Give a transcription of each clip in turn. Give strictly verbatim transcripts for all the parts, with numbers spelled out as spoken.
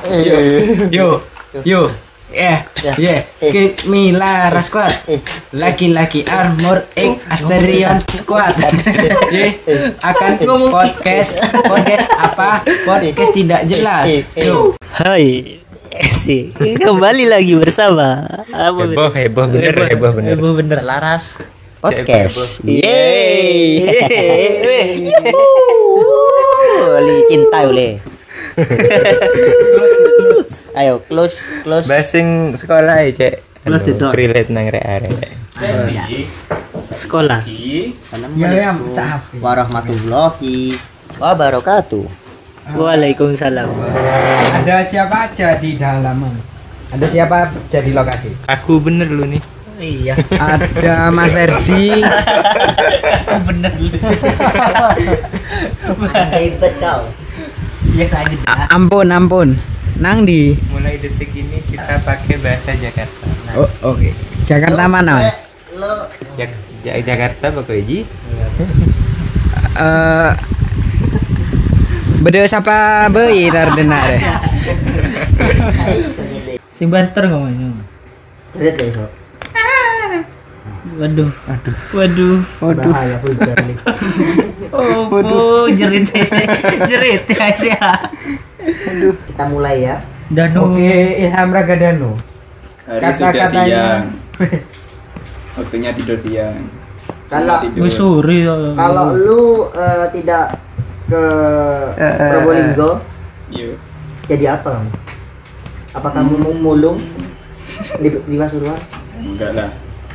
Yo, yo, eh, yeah, Keep Mila Squad, laki-laki armor X Asterion Squad. J akan podcast, podcast apa? Podcast tidak jelas. Yo. Hai, si kembali lagi bersama apa heboh heboh bener heboh bener heboh bener Laras podcast. yeay Oli cinta oleh. Ayo close close. basing sekolah ya cek Close the door. relate nang rek-arek sekolah. Assalamualaikum warahmatullahi wabarakatuh. Waalaikumsalam. Ada siapa aja di dalaman? Ada siapa aja di lokasi? aku bener lu nih Iya, Ada Mas Ferdi, bener. Hebat kau. Biasa aja dah. A- ampun ampun. Nang di. mulai detik ini kita pakai bahasa Jakarta Oh, oke. Jakarta mana, Mas? Lo Jak- Ja- Jakarta pokoknya ji Eh Bede siapa beui tardena deh. Sing banter ngomongnya. Cerit deh so. Waduh, waduh, waduh, waduh. Bahaya vulgar nih. Oh, oh, jerit, jerit ya sih. Kita mulai ya. Danu. Oke, Ilham Ragadano. Hari sudah siang. Waktunya tidur siang. Kalau Tidur. Musuri. kalau lu eh, tidak ke Probolinggo, Yuk. jadi apa kamu? Apa kamu mau mulung di di Pasuruan? Enggak lah.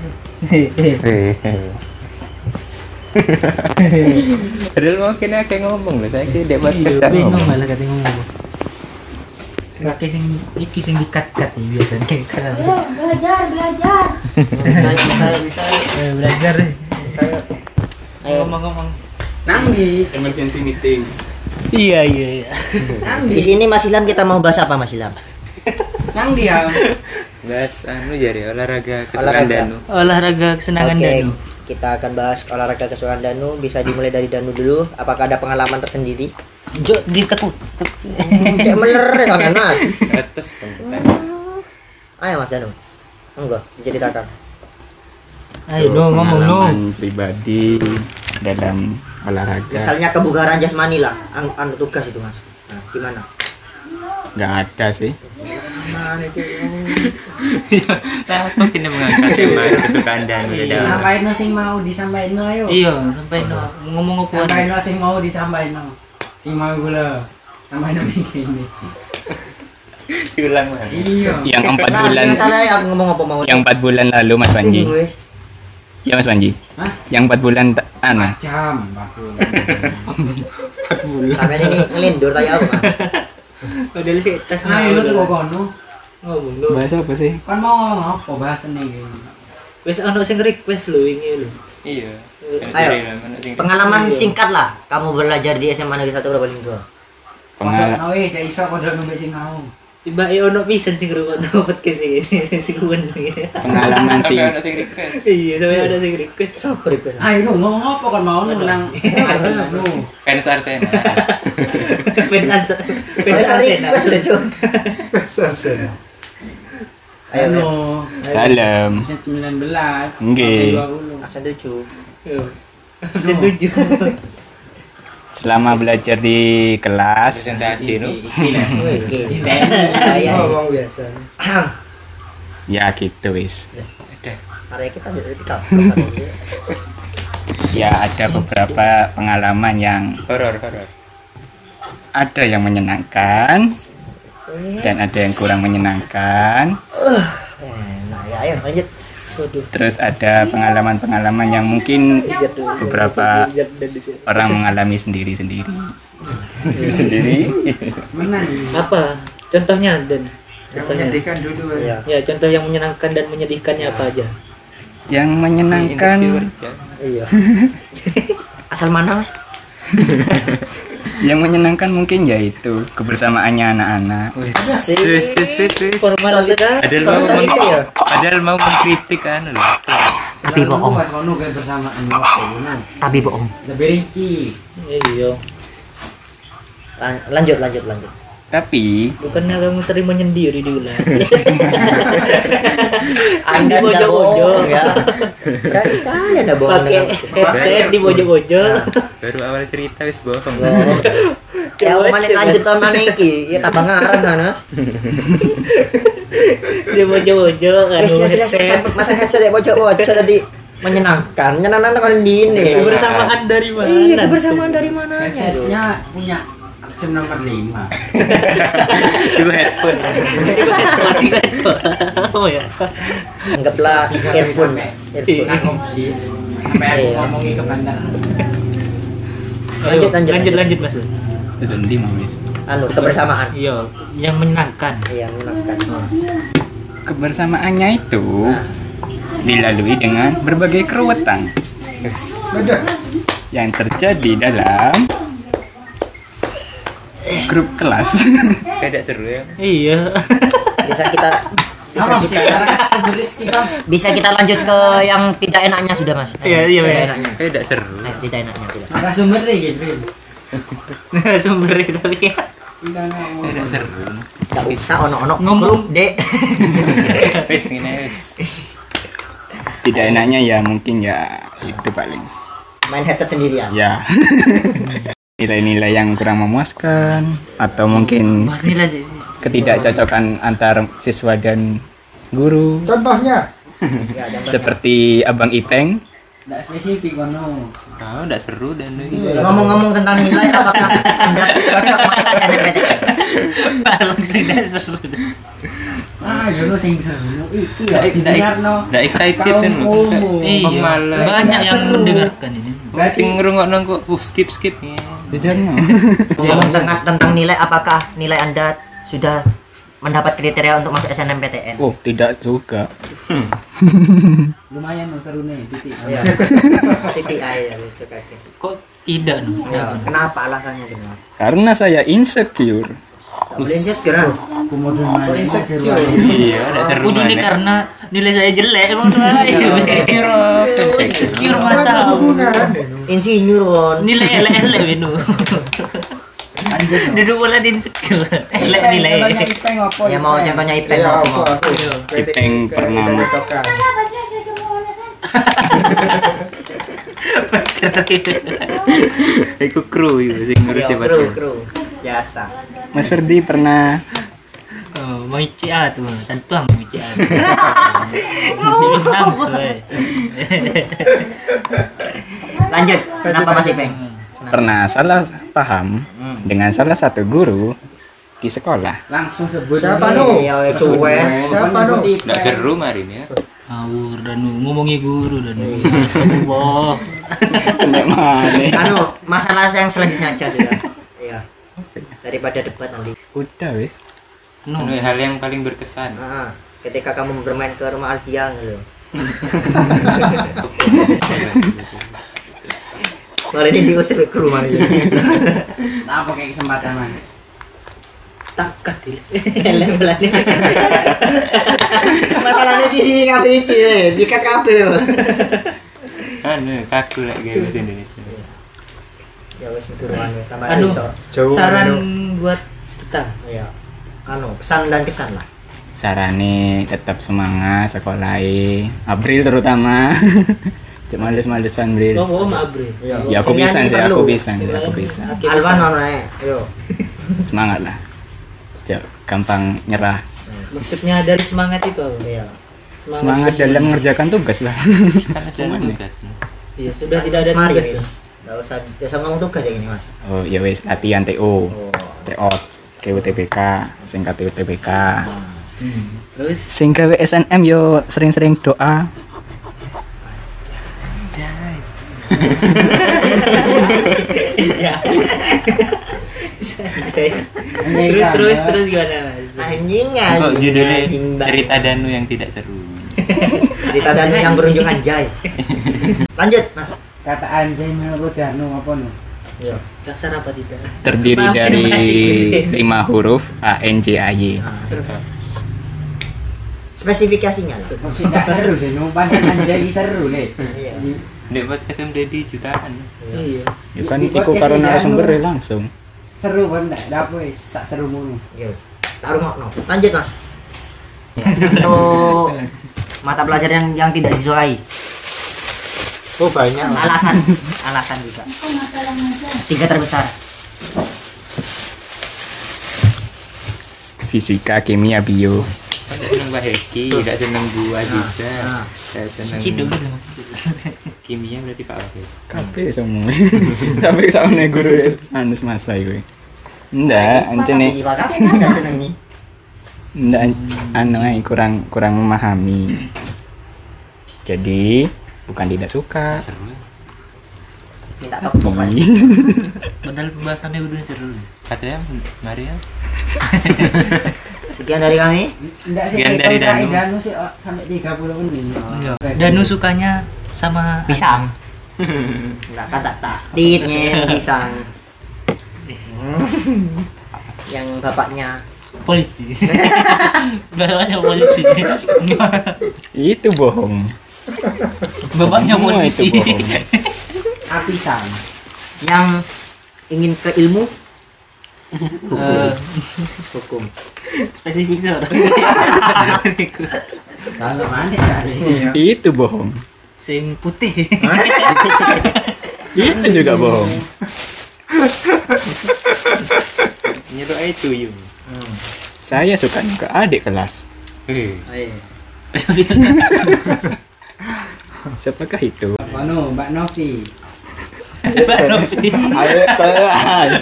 padahal mau kena kayak ngomong loh saya kira buat kita Bingung ngomong malah kata ngomong. Kaki sing iki sing dikat-kat nih biasanya kan. belajar belajar Eh, belajar deh. Ayo. Ngomong-ngomong. Nang di. Emergency meeting. Iya, iya, iya. Nang Di di. sini Mas Ilham kita mau bahas apa Mas Ilham? Nang di ya. bahas anu jadi olahraga kesukaan Olahraga. Danu Olahraga kesenangan Oke, Danu. kita akan bahas olahraga kesukaan Danu. Bisa dimulai dari Danu dulu. Apakah ada pengalaman tersendiri? Jo ditekuk. Kayak meler ya kan Mas? atas kan Ayo Mas Danu. Enggak, diceritakan. Ayo dong ngomong dong. Pengalaman pribadi dalam olahraga. Misalnya kebugaran jasmani lah, an anu tugas itu Mas. Nah, gimana? Enggak ada sih. Nah, itu. aku kini mengangkat tema kesukaan Danu ya Danu Sampaikan sing mau disampaikan ayo. Iya, sampai no ngomong apa? Sampaikan sing mau disampaikan. Sing mau gula. Sampaikan begini. siulang lah Iya. yang empat Nah, bulan yang salah ya aku ngomong apa mau. yang empat bulan lalu Mas Panji Bingung, weh. ya Mas Panji Hah? yang empat bulan ta- anu Jam, Pak. Sampai ini ngelindur tanya apa Mas? Padahal sih tas. Ayo lu tuh kono. ngomong lu. Bahasa apa sih? Kan mau ngomong apa bahasane iki? Wes ono sing request lho wingi lho. iya Ayo. Pengalaman singkat lah. Kamu belajar di S M A Negeri satu Probolinggo. pengalaman Pengalaman wis gak iso padha nunggu sing mau. Tiba e ono pisan sing ngrungokno podcast iki. Sing kuwen iki. Pengalaman sih. Iya, sampe ada sing request. Sopo request? Ayo lu ngomong apa kan mau nu nang anu. fans Arsenal Fans Arsenal. Fans Ada Arsenal. request deh, Cuk. Ayo, Anu. Dalam. Absen sembilan belas. Nggih. dua puluh. absen tujuh. Absen tujuh. Selama belajar di kelas presentasi nu Oke. Ya, Ngomong biasa. ya gitu wis. Area kita jadi kita. Ya ada beberapa pengalaman yang horor horor ada yang menyenangkan dan ada yang kurang menyenangkan. Nah, ya ayo lanjut. Waduh. Terus ada pengalaman-pengalaman yang mungkin beberapa orang mengalami sendiri-sendiri. Sendiri. Mana nih? Apa? Contohnya dan Yang contohnya. menyedihkan dulu. Iya. Ya, contoh yang menyenangkan dan menyedihkannya apa aja? Yang menyenangkan Iya. Asal mana, Mas? yang menyenangkan mungkin yaitu kebersamaannya anak-anak. wis wis wis wis wis Formal sekali. padahal mau Sosial itu ya. padahal mau mengkritik kan lho Tapi bohong. Pas kono kan bersamaan waktu. Tapi bohong. Lebih rinci. Iya. Lan- Lanjut, lanjut, lanjut. Tapi Bukannya kamu sering menyendiri di ulas. Anda Di sudah bojo-bojo. bohong ya. Berani sekali Anda bohong Pakai dengan headset di bojo-bojo. Baru awal cerita wis bohong. bohong. Ya mana lanjut tahun mana iki? Ya tambah ngarang kan, Mas. Di bojo-bojo kan Wis jelas headset. masa headset ya bojo-bojo tadi menyenangkan. Menyenangkan kan di ini. Kebersamaan dari mana? Iya, kebersamaan dari mananya? Headsetnya punya option nomor lima. Itu headphone. Oh ya. Anggaplah earphone. Earphone. Opsis. Sampai aku ngomongin ke bandar. Lanjut, lanjut, lanjut, lanjut Mas. itu nanti mau wis. Anu kebersamaan. Iya, yang menyenangkan. Iya, menyenangkan. Kebersamaannya itu dilalui dengan berbagai keruwetan yang terjadi dalam grup kelas. Kayak seru ya. Iya. Bisa kita bisa kita bisa kita lanjut ke yang tidak enaknya sudah, Mas. Iya, iya, Tidak iya. enaknya. Kayak seru. Eh, tidak enaknya sudah. Narasumber deh gitu. Sumber tapi Kayak seru. Enggak usah ono-ono Ngomong. grup, Dek. Wis ngene wis. Tidak enaknya ya mungkin ya itu paling. Main headset sendirian. Ya. Nilai-nilai yang kurang memuaskan atau mungkin Mas nilai sih. ketidakcocokan antar siswa dan guru Contohnya Ya, dan seperti Abang Ipeng. enggak spesifik kono. Oh, enggak seru dan ngomong-ngomong tentang nilai apakah Anda cocok masuk S N M P T N? Paling sudah seru. Ah, yo lo sing seru iki ya. Nggak- nggak ex- Dengarno nggak excited kaum kan? umum. Iya, Pemalas. banyak yang mendengarkan ini. Berarti- sing ngrungokno kok uh, skip skip ya. Dijarno. Ngomong tentang tentang nilai apakah nilai Anda sudah mendapat kriteria untuk masuk S N M P T N? Oh, tidak juga. Lumayan lo seru nih, titik. Iya. C P I ya itu kayaknya. Kok tidak no? Ya, kenapa alasannya gitu, Mas? Karena saya insecure. Tak boleh insecure. Aku mau mana seru. Iya, enggak seru. Udah nih mana. karena nilai saya jelek emang aja. Insecure. Insecure mata. Insinyur, Won. Nilai elek-elek Binu. Lanjut. Duduk bola di insecure. Elek nilai. Ya mau contohnya Ipeng Ya, mau. apa? Ipeng pernah Iku kru itu sing ngurus Iya, siapa kru, kru. Biasa. Mas Ferdi pernah Oh, mau I C A tuh, tentu mau I C A. Bintang tuh. eh. Lanjut. Kenapa Mas Ipeng? pernah salah paham dengan salah satu guru di sekolah. Langsung sebut. Siapa nu? Iya, cuwen. Siapa nu? Enggak seru marin ya. Ngawur dan ngomongi guru dan astagfirullah. Nek mana? Anu, masalah yang selanjutnya aja sudah. Iya. Daripada debat nanti. Udah wis. No. Anu, hal yang paling berkesan. Nah, ketika kamu bermain ke rumah Alfia gitu. Kali ini diusir ke rumah gitu. Nah, pakai kesempatan man. Takat ya. Level-level. Masalahnya di sini kafe iki, di kafe. Anu, kaku lagi bahasa Indonesia. Ya wes turunan tambah Anu, iso. Jauh saran anu. buat kita. Iya. Anu, pesan dan kesan lah. Sarane tetap semangat sekolah April terutama. Cuma males-malesan Bril. Oh, oh, maaf, Bre. Iya. Ya aku bisa sih, Perlu. aku bisa, aku bisa. Oke, Alwan bisa. ono ae. Yo. Semangat lah. Jangan gampang nyerah. Maksudnya dari semangat itu apa? Iya. Semangat dalam mengerjakan tugas lah. Kan ada tugas. Iya, sudah tidak ada Mari, tugas. wes. ya. Nggak usah, nggak usah ngomong tugas ya gini, Mas. Oh ya wis latihan T O, Oh. T O, K U T B K, singkat T U T B K. Terus Sing gawe S N M yo sering-sering doa. Iya. terus terus terus gimana Mas? Anjing Kok anjing. judulnya anjing, Mbak. cerita Danu yang tidak seru. Cerita dan yang berujung anjay. Lanjut, Mas. Kata anjay menurut Danu apa nu? Yo. Kasar apa tidak? Terdiri Maaf, dari masih- lima huruf A N J A Y. Nah, terus. Spesifikasinya lah. Masih enggak seru sih, numpan anjay seru le. Iya. Nek podcast M D D jutaan. Iya. Ya kan iku karo narasumber langsung. seru kan enggak? Dapo wis sak seru ngono. Yo. Tak rungokno. Lanjut, Mas. Untuk mata pelajaran yang yang tidak disukai. Oh banyak. Alasan, alasan juga. Tiga terbesar. Fisika, kimia, bio. Aku seneng Mbak Heki, tidak seneng gua juga. Nah. Saya seneng Cici dulu dong. kimia berarti Pak Wahid. Kabeh semua. Tapi soalnya guru anus masa iku. Ndak, ancene Pak Kakek kan seneng nih. ndak anu ae kurang kurang memahami. Jadi bukan tidak suka. Minta topok kan. Padahal pembahasannya udah seru. Katanya Maria. Sekian dari kami. Enggak sih Sekian kita dari mulai Danu. Danu sih oh, sampai tiga puluh menit. Iya. Danu sukanya sama Pisang. Enggak kata tak. Titnya pisang. Yang bapaknya politik. Bapaknya politik. Itu bohong. Bapaknya Semua itu polisi. bohong. Apisan. yang ingin ke ilmu Eh, hukum. spesifik sih orang. Kalau mana cari? Itu bohong. Sing putih. Itu juga bohong. Nyedok aja tuyul. Saya suka ke adik kelas. Eh, Siapakah itu? Mano, Mbak Novi. Ayo kelas.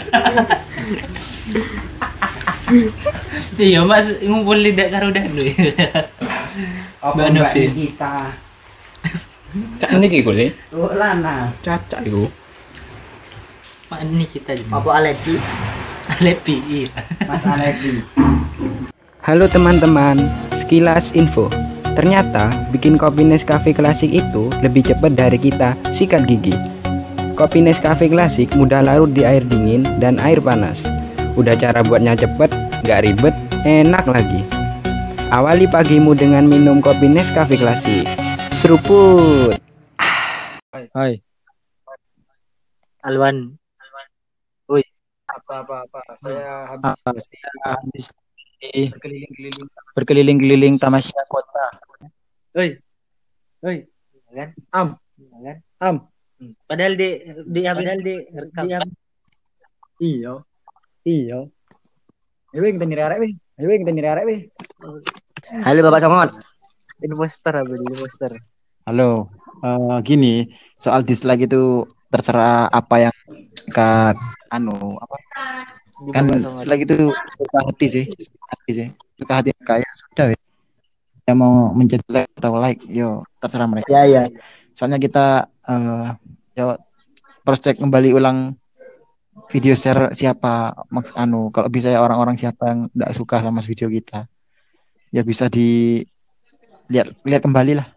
Iya mas ngumpul lidak karo Danu. Apa Mbak Mbak Novi. Nikita? Cak niki kule. Lu lana. Cacak iku. Mak ini kita jadi. Apa alergi? Lepi. Iya. Mas Aleki. Halo teman-teman, sekilas info. Ternyata bikin kopi Nescafe Klasik itu lebih cepat dari kita sikat gigi. Kopi Nescafe Klasik mudah larut di air dingin dan air panas. Udah cara buatnya cepet, gak ribet, enak lagi. Awali pagimu dengan minum kopi Nescafe Klasik. Seruput. Hai, Alwan. apa-apa-apa. Saya habis, saya habis di berkeliling-keliling berkeliling-keliling tamasya kota. Oi. Oi. Kan? Am, Kan? am. Padahal di di padahal di rekam. Iya, iya. Ayo kita nyari arek, weh. Ayo kita nyari arek, weh. Halo Bapak Somot. Imposter apa di imposter? Halo, eh, gini, soal dislike itu terserah apa yang kak anu apa kan dislike itu suka hati sih, suka hati sih, suka hati kayak sudah weh. Yang mau mencet like atau like, yo terserah mereka. Ya ya. Soalnya kita eh yo cross check kembali ulang video share siapa maks anu kalau bisa ya orang-orang siapa yang tidak suka sama video kita ya bisa dilihat lihat kembali lah.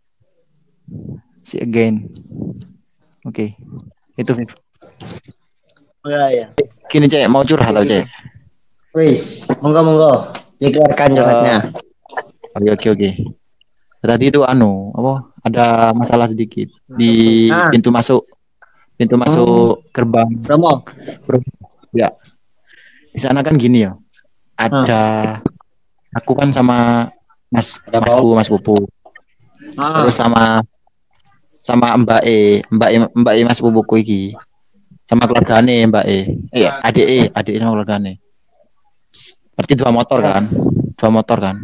See again. Oke. Itu Viv. Ya ya. Gini Cek, mau curhat atau Cek? Wis, monggo monggo. Dikeluarkan curhatnya. Oke oke oke. Tadi itu anu apa? Ada masalah sedikit di Ah. pintu masuk pintu masuk gerbang. Romo. Ya. Di sana kan gini ya. Ada aku kan sama Mas Masku Mas Pupu. Ah. Terus sama sama Mbak E, Mbak E, Mbak E Mas Pupuku iki. Sama keluargane Mbak E. Eh, adik E, adik sama keluargane. Berarti dua motor kan? Dua motor kan?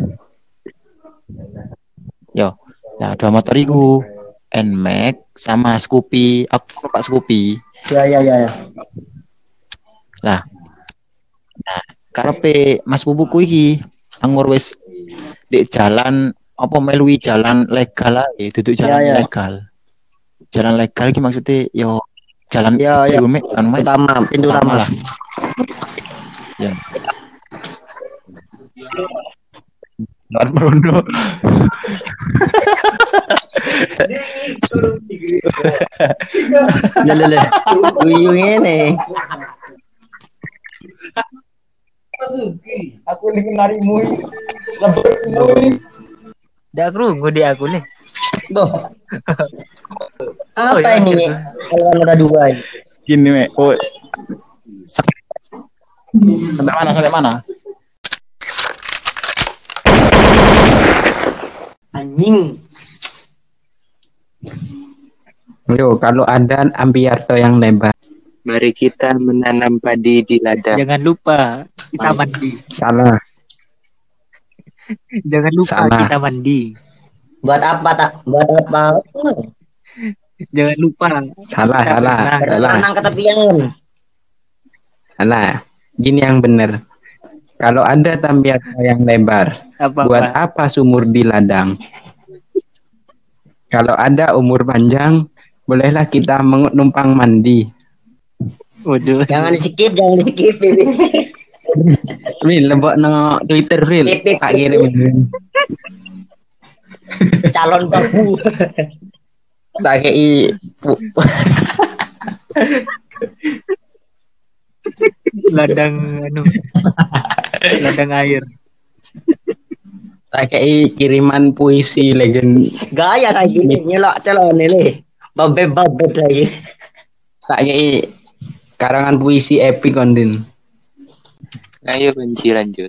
Yo. Nah, dua motor iku Nmax sama Scoopy. Aku numpak Scoopy. Ya ya ya ya. Nah. Nah, karepe Mas Pupuku iki anggur wis di jalan apa melui jalan legal ae, duduk jalan Ya, ya. legal. Jalan legal iki maksudnya yo jalan Ya, ya. iku, Mek, anu, Mek. Utama, pintu utama lah. Ya. Jalan Merondo. Ya lele. Uyung ini. Aku ning narimu. Dak krungu di aku nih. Boh. Apa Oh, ya, ini? gitu. Kalau ada dua ini. Gini, Mek. Oh. Sak- Sampai mana? Sampai mana? Anjing. Yo, kalau ada Ambiarto yang lebar. Mari kita menanam padi di ladang. Jangan lupa kita mandi. Salah. Jangan lupa Salah. kita mandi. Buat apa tak? Buat apa? Jangan lupa. Salah, kita salah, berenang. salah. Berenang ke tepian. Salah. Gini yang benar. Kalau ada Ambiarto yang lebar, Apa, buat apa? apa sumur di ladang? Kalau ada umur panjang, bolehlah kita menumpang mandi. Waduh. Jangan di skip, jangan di skip. Wil, lebok no Twitter, Wil. Pip, pip, Tak pip, kirim. Calon babu. Tak kei. Ladang anu. Ladang air. Tak kei kiriman puisi legend. Gaya kayak gini nyelok calon ini. Babet-babet lagi. Tak kei karangan puisi epic kondin. Ayo benci lanjut.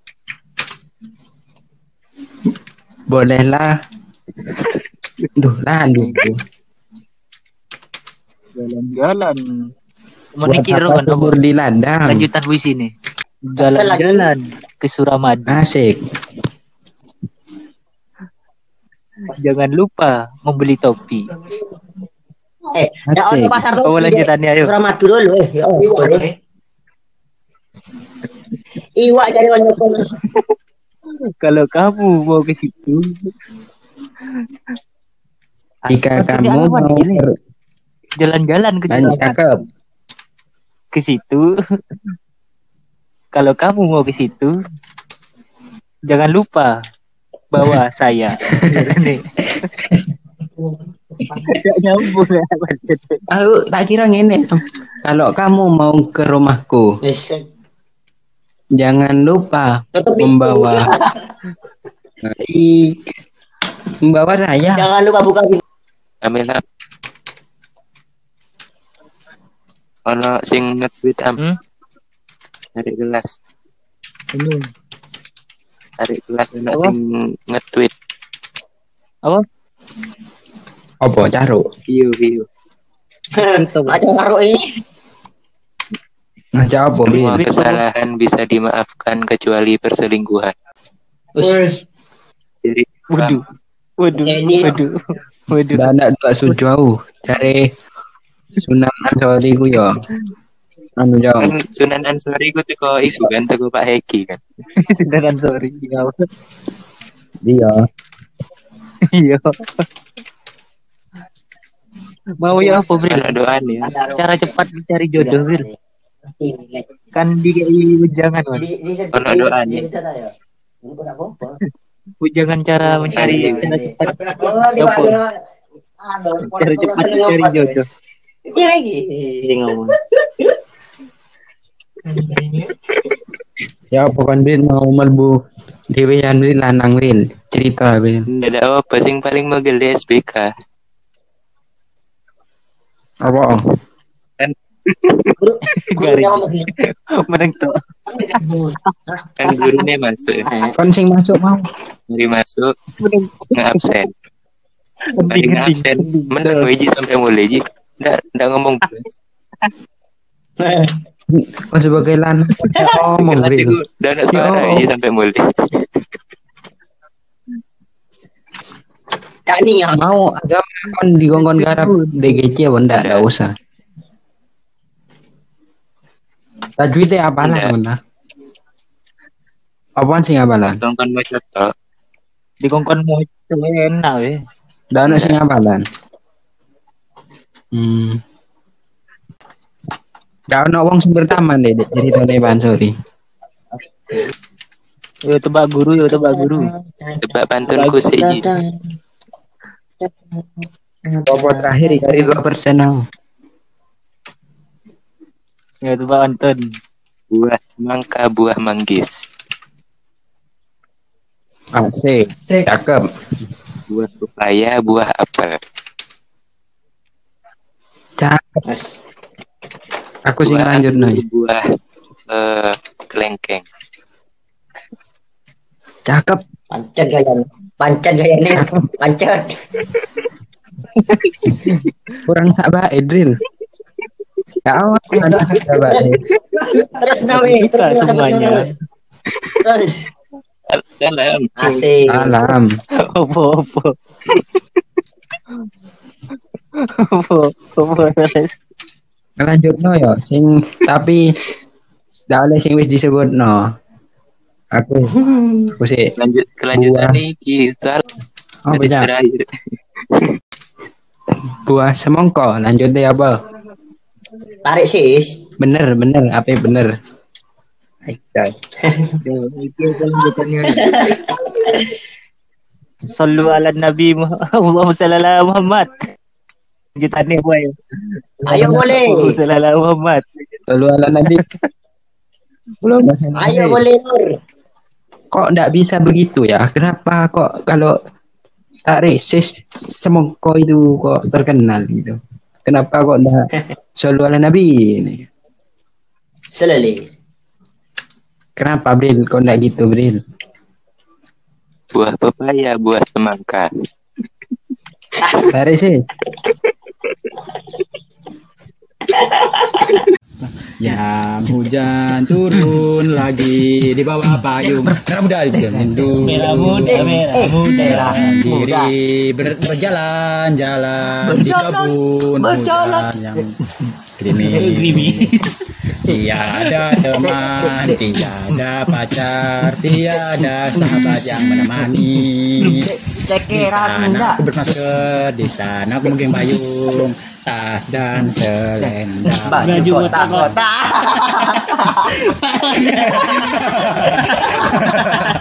Bolehlah. Duh, lanjut. Jalan-jalan. Buat Menikir apa kan sumur di ladang? lanjutan puisi nih. Jalan-jalan ke Suramadu. Asik. Jangan lupa membeli topi. Eh, dah Asik. on pasar tuh. Oh, lanjutannya ayo. Suramadu dulu eh. Ya, oh, boleh. Iwak dari onyokon. Kalau kamu mau ke situ, Jika Maksudnya kamu apa mau nih? jalan-jalan ke Lanjut, Suramadu. cakep. Ke situ. Kalau kamu mau ke situ, jangan lupa bawa saya. Nih. Gak nyambung ya. Aku tak kira ngene. Kalau kamu mau ke rumahku, Yes. jangan lupa Tutup pintu. membawa I, membawa saya. Jangan lupa buka pintu. Amin. Am. Ono sing nge-tweet am. Hmm? Tarik gelas. Ini Tarik gelas ono Apa? sing nge-tweet. apa? Apa caro? View view. Macam karo ini. Ngaca apa Semua Bil? kesalahan bisa dimaafkan kecuali perselingkuhan. Jadi Waduh. Waduh. Ini- Waduh. Waduh. Udah ndak dua sujauh dari Sunan Ansori ku yo. Anu jauh. kan Sunan Ansori ku teko iku kan teko Pak Heki kan. Sudah sorry. Iya. Iya. Mau ya apa, Bre? Ono doan ya. Cara cepat mencari jodoh, Bre. Kan di ujangan, Mas. Ono doa nih. Ujangan cara mencari cara cepat. Cara cepat mencari jodoh. Ini lagi. Ini ngomong. Ya apa kan Bil mau melbu dewean Bil lanang Bil. Cerita Bil. Ndak ada apa sing paling megel di S B K. Apa? Gurunya ngomong gini. Meneng tok. Kan gurunya masuk. Kon sing masuk mau. Mari masuk Meneng. nge-absen. Mari Gending, nge-absen. gending. Menang Wiji sampai mulai Ji. Ndak ndak ngomong belas. Kau sebagai lanang ngomong Kelas Bil. iku ndak ada suara Yo. Wiji sampai mulai. Tak nih ya. Mau agama kon digongkon garap D G C apa ndak? Ndak usah. Tajwidnya apa lah Ndak. mana? Apaan sih apalan? Kongkon maca tok. Di kongkon mau enak weh. Ndak ono sing apalan. Hmm. Ndak ono wong sing bertaman deh ceritane Pan Sori. Yo tebak guru, yo tebak guru. Tebak pantunku sih Ji. Apa terakhir dari dua persen aku. Yo tebak Anton. Buah mangka, buah manggis. Asik. Cakep. Buah pepaya, buah apel. Cakep. Aku sing Buah lanjut anggur, nih. Buah eh kelengkeng. Cakep. Pancet gaya. Pancet gaya ini. Pancet. Kurang sabar Edril. Ya awak ada sabar. Terus nawi, terus Buka semuanya. Terus. Dalam. Asik. Alam. Opo opo. Opo opo. Lanjut no yo sing tapi ndak oleh sing wis disebut no. Aku aku sih Lanjut kelanjutan Buah. nih kisah oh hadis banyak terakhir. buah semongko lanjut deh apa? Tarik sis. Bener bener apa yang bener? Aisyah. Sallu ala Nabi Muhammad sallallahu Muhammad. Lanjutannya boy. Ayo boleh. Sallallahu Muhammad. Lalu ala Nabi. Belum. Ayo boleh Nur. Kok ndak bisa begitu ya? Kenapa kok kalau tak resis semongko itu kok terkenal gitu? Kenapa kok ndak selalu ala Nabi ini? Selali. Kenapa Bril? Kok ndak gitu Bril? Buah pepaya, buah semangka. Tak resis. Yang hujan turun lagi di bawah payung merah muda mendung Merah muda, merah muda. diri ber- berjalan-jalan di kebun hutan yang gerimis. Tiada teman, tiada pacar, tiada sahabat yang menemani. Di sana aku bermasker, di sana aku mungkin payung, tas dan selendang. Baju kotak-kotak.